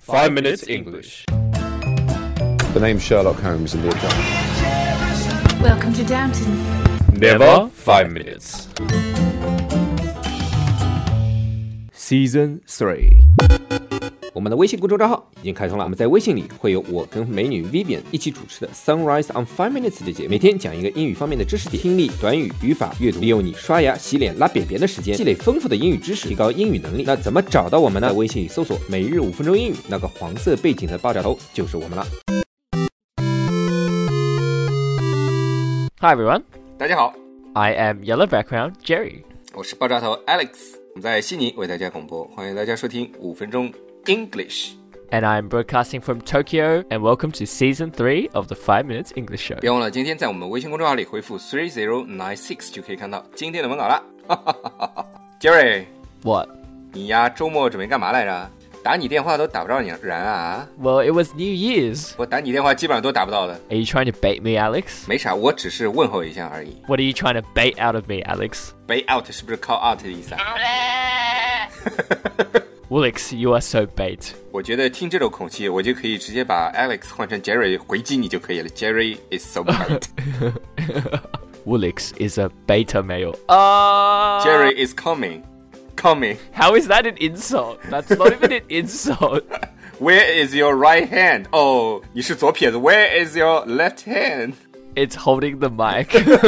5 Minutes English. The name's Sherlock Holmes in the account. Welcome to Downton. Never 5 minutes. Season 3， 我们的微信公众账号已经开通了，我们在微信里会有我跟美女 Vivian 一起主持的 Sunrise on 5 Minutes 的节目，每天讲一个英语方面的知识点，听力、短语、语法、阅读，利用你刷牙、洗脸、拉便便的时间，积累丰富的英语知识，提高英语能力。那怎么找到我们呢？在微信里搜索每日5分钟英语，那个黄色背景的爆炸头就是我们了。 Hi everyone, 大家好， I am Yellow Background Jerry. 我是爆炸头 Alex， 我们在悉尼为大家广播，欢迎大家收听5分钟 English。 And I'm broadcasting from Tokyo, and welcome to Season 3 of the 5 Minutes English Show. 别忘了今天在我们微信公众号里回复3096就可以看到今天的文稿了。Jerry， What? 你呀周末准备干嘛来着？打你电话都打不着你人啊？ Well, it was New Year's. 我打你电话基本上都打不到的。 Are you trying to bait me, Alex? 没啥，我只是问候一下而已。 What are you trying to bait out of me, Alex? Bait out 是不是靠 out 的意思啊？ Alex, you are so bait. 我觉得听这种口气，我就可以直接把 Alex 换成 Jerry 回击你就可以了。Jerry is so bait. Alex is a beta male. Jerry is coming. How is that an insult? That's not even an insult. Where is your right hand? Oh, 你是左撇子。Where is your left hand? It's holding the mic.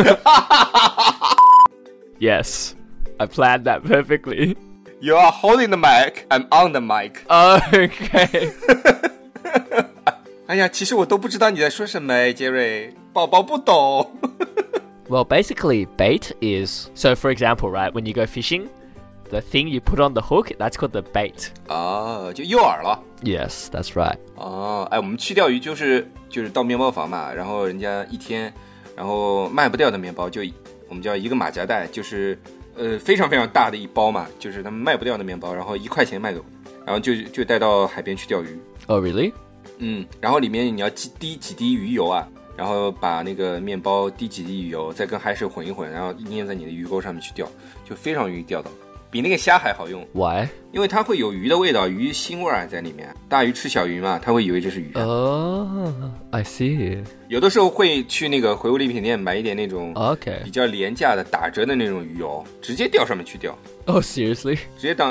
Yes, I planned that perfectly. You are holding the mic. I'm on the mic. Okay. 哎呀，其实我都不知道你在说什么，Jerry，宝宝不懂。 Well, basically, bait is... So, for example, right, when you go fishing, the thing you put on the hook, that's called the bait. 哦，就诱饵了。 Yes, that's right. 哦，哎，我们去钓鱼就是到面包房嘛，然后人家一天，然后卖不掉的面包就我们叫一个马夹袋，就是非常非常大的一包嘛，就是他们卖不掉的面包，然后1块钱卖给我，然后就带到海边去钓鱼。 Oh, really? 然后里面你要滴几滴鱼油啊，然后把那个面包滴几滴鱼油，再跟海水混一混，然后粘在你的鱼钩上面去钓，就非常容易钓到，比那个虾还好用。 Why? 因为它会有鱼的味道，鱼腥味在里面。大鱼吃小鱼嘛，它会以为这是鱼。 Oh, I see. 有的时候会去那个回物礼品店买一点那种 Okay. 比较廉价的打折的那种鱼油，直接钓上面去钓， Oh, seriously? 直接当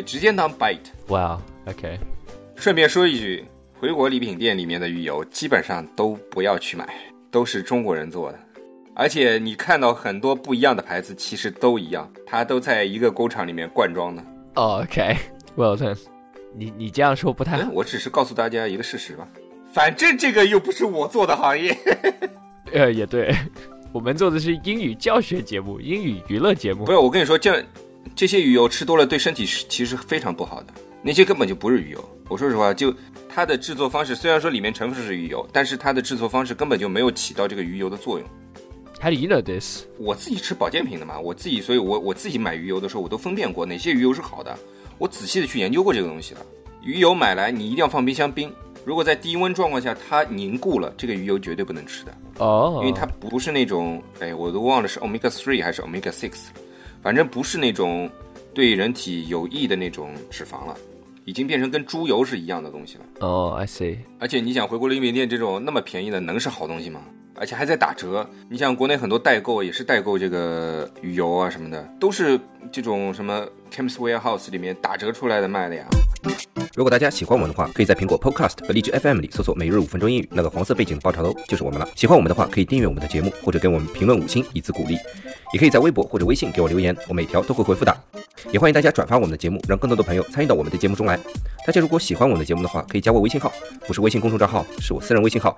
bite。 Wow, okay. 顺便说一句，回国礼品店里面的鱼油基本上都不要去买，都是中国人做的，而且你看到很多不一样的牌子其实都一样，它都在一个工厂里面灌装的。 Oh, okay. Well then, 你这样说不太好。 我只是告诉大家一个事实吧，反正这个又不是我做的行业。 也对，我们做的是英语教学节目，英语娱乐节目。 不是，我跟你说，这些鱼油吃多了对身体其实非常不好的，那些根本就不是鱼油。我说实话，就它的制作方式，虽然说里面成分是鱼油，但是它的制作方式根本就没有起到这个鱼油的作用。 How do you know this? 我自己吃保健品的嘛，所以我自己买鱼油的时候，我都分辨过哪些鱼油是好的，我仔细的去研究过这个东西了。鱼油买来你一定要放冰箱冰，如果在低温状况下它凝固了，这个鱼油绝对不能吃的。 哦， 因为它不是那种，我都忘了是 omega 3还是 omega 6，反正不是那种对人体有益的那种脂肪了，已经变成跟猪油是一样的东西了。 哦，I see。 而且你想回国礼品店这种那么便宜的能是好东西吗？而且还在打折。你想国内很多代购也是代购这个鱼油啊什么的，都是这种什么 Chemist Warehouse 里面打折出来的卖的呀。 如果大家喜欢我们的话，可以在苹果 Podcast 和荔枝 FM 里搜索每日5分钟英语，那个黄色背景的爆炒头就是我们了。喜欢我们的话，可以订阅我们的节目，或者给我们评论5星以资鼓励。也可以在微博或者微信给我留言，我每条都会回复的。也欢迎大家转发我们的节目，让更多的朋友参与到我们的节目中来。大家如果喜欢我们的节目的话，可以加我微信号，不是微信公众账号，是我私人微信号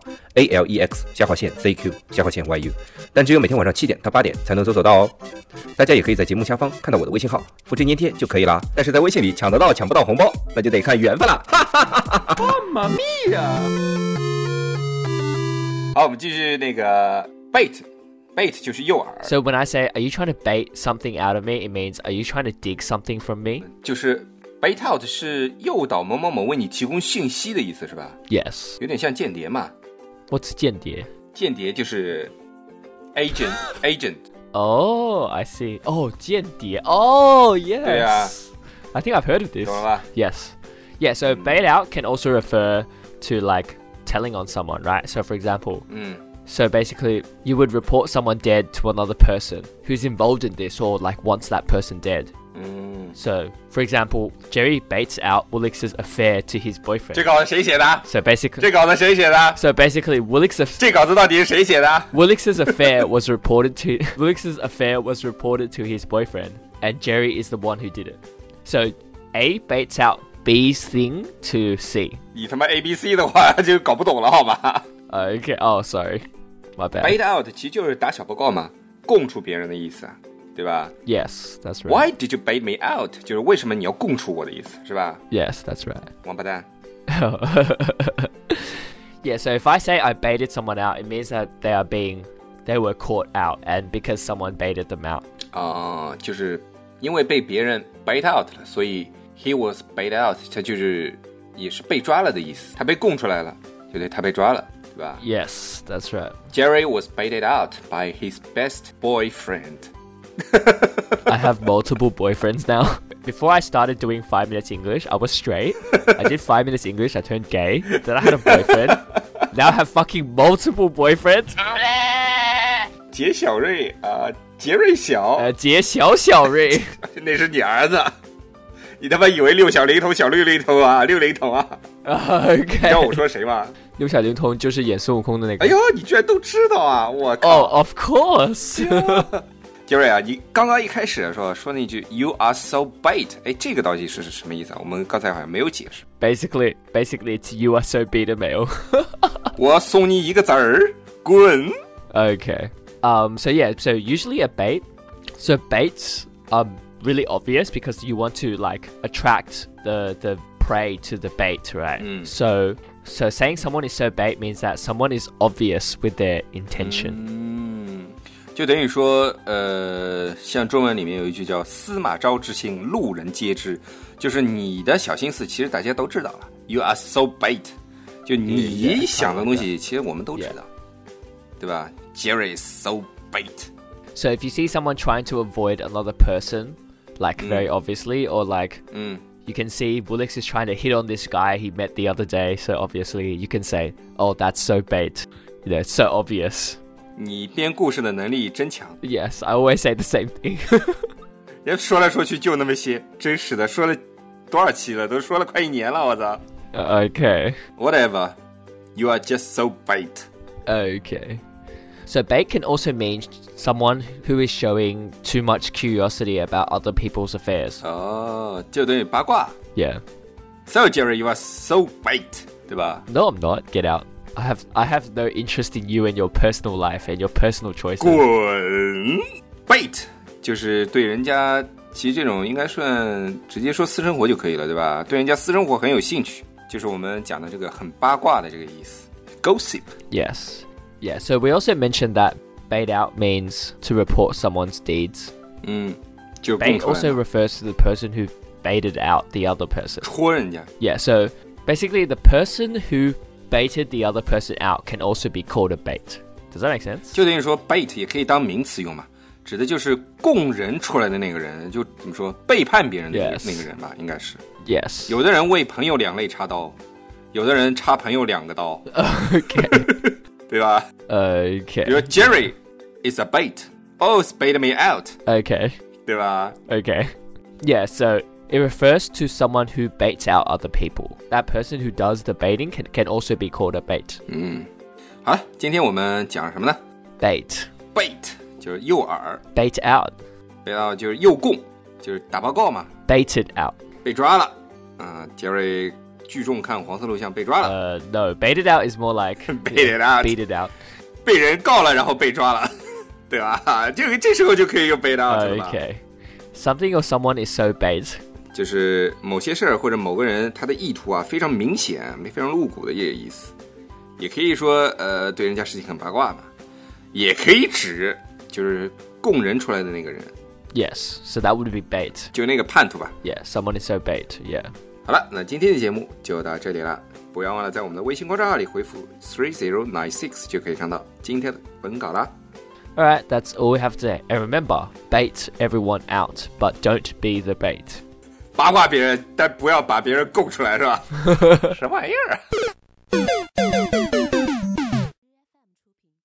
ALEX_ZQ_YU， 但只有每天晚上7点到8点才能搜索到哦。大家也可以在节目下方看到我的微信号，复制粘贴就可以啦。但是在微信里抢得到抢不到红包，那就得看缘分了。 妈咪呀！ 好，我们继续那个 bait 就是诱饵。 So when I say, are you trying to bait something out of me? It means, are you trying to dig something from me? 就是 bait out 是诱导某某某为你提供信息的意思是吧？ Yes. 有点像间谍嘛。 What's 间谍？ 间谍就是 agent。 Oh, I see. Oh, 间谍。Oh, yes. 对啊。 I think I've heard of this. 懂了吧？ Yes. Yeah, so bait out can also refer to like telling on someone, right? So for example, so basically you would report someone dead to another person who's involved in this or like wants that person dead. So for example, Jerry baits out Woolix's affair to his boyfriend. 这稿子谁写的？ So basically, 这稿子谁写的？ so basically Woolix's 这稿子到底是谁写的？ affair was reported to his boyfriend, and Jerry is the one who did it. So A baits out B's thing to C. 你他妈 ABC 的话就搞不懂了好吗 Okay. Oh, sorry, my bad. ？Bait out 其实就是打小报告嘛，供出别人的意思啊，对吧 Yes, that's right. ？Why did you bait me out？ 就是为什么你要供出我的意思，是吧？ Yes, that's right. 王八蛋。 Yeah. So if I say I baited someone out, it means that they were caught out, and because someone baited them out. 就是因为被别人 bait out 了，所以 he was bait out， 他就是也是被抓了的意思，他被供出来了，对不对？他被抓了，对吧 Yes, that's right. ？Jerry was baited out by his best boyfriend. I have multiple boyfriends now. Before I started doing 5 minutes English, I was straight. I did 5 minutes English, I turned gay. Then I had a boyfriend. Now I have fucking multiple boyfriends. 杰小瑞啊，杰瑞小， 杰小小瑞。 那是你儿子。你他妈以为六小龄童、小六龄童啊，六龄童啊？ Okay. 你知道我说谁吗？ 六小龄童就是演孙悟空的那个。 哎呦，你居然都知道啊！我靠 Oh, of course. 杰瑞啊，你刚刚一开始说那句 "You are so bait"， 哎，这个到底是什么意思啊？我们刚才好像没有解释。 Basically, it's you are so beta male. 我送你一个字儿，滚！ Okay. So usually a bait. So baits are really obvious because you want to like attract the prey to the bait, right? So saying someone is so bait means that someone is obvious with their intention. 就等于说，像中文里面有一句叫"司马昭之心，路人皆知"，就是你的小心思，其实大家都知道了。You are so bait， 就你想的东西，其实我们都知道，对吧 ？Jerry is so bait。 So if you see someone trying to avoid another person, like very obviously, or like you can see Woolix is trying to hit on this guy he met the other day, so obviously you can say, "Oh, that's so bait." You know, it's so obvious. 你编故事的能力真强。 Yes, I always say the same thing. 人说来说去就那么些，真是的，说了多少期了？都说了快1年了，我操 Okay. ！Whatever, you are just so bait. Okay. So bait can also mean someone who is showing too much curiosity about other people's affairs. 哦，就等于八卦。 Yeah. So Jerry, you are so bait， 对吧？ No, I'm not. Get out. I have no interest in you and your personal life and your personal choices. 滚 ！Bait 就是对人家，其实这种应该算直接说私生活就可以了，对吧？对人家私生活很有兴趣，就是我们讲的这个很八卦的这个意思。Gossip. Yes. Yeah, so we also mentioned that bait out means to report someone's deeds. 就供 Bait 出来 also 了 refers to the person who baited out the other person. 戳人家。 Yeah, so basically the person who baited the other person out can also be called a bait. Does that make sense? 就等于说 bait 也可以当名词用嘛，指的就是供人出来的那个人，就怎么说背叛别人的 Yes. 那个人吧，应该是。 Yes. 有的人为朋友两肋插刀，有的人插朋友2个刀， Okay. 对吧？ Okay. 比如 Jerry is a bait. Oh, it's baited me out. Okay. 对吧？ Okay. Yeah, so it refers to someone who baits out other people. That person who does the baiting can also be called a bait. 好了，今天我们讲什么呢 Bait. ？Bait 就是诱饵， Bait out. bait out 就是诱供，就是打报告嘛， Baited out. 被抓了。Jerry 聚众看黄色录像被抓了， No, baited out is more like Baited out. Beat it out. 被人告了，然后被抓了，对吧？这时候就可以用 bait out 了吧？ Okay. Something or someone is so bait. 就是某些事儿或者某个人他的意图啊非常明显、非常露骨的这个意思，也可以说对人家事情很八卦嘛，也可以指就是供人出来的那个人， Yes, so that would be bait. 就那个叛徒吧。 Yeah, someone is so bait. Yeah. 好了，那今天的节目就到这里了，不要忘了在我们的微信公众号里回复3096就可以看到今天的文稿啦。 Alright, that's all we have today. And remember, bait everyone out, but don't be the bait. 八卦别人，但不要把别人供出来，是吧？什么玩意儿？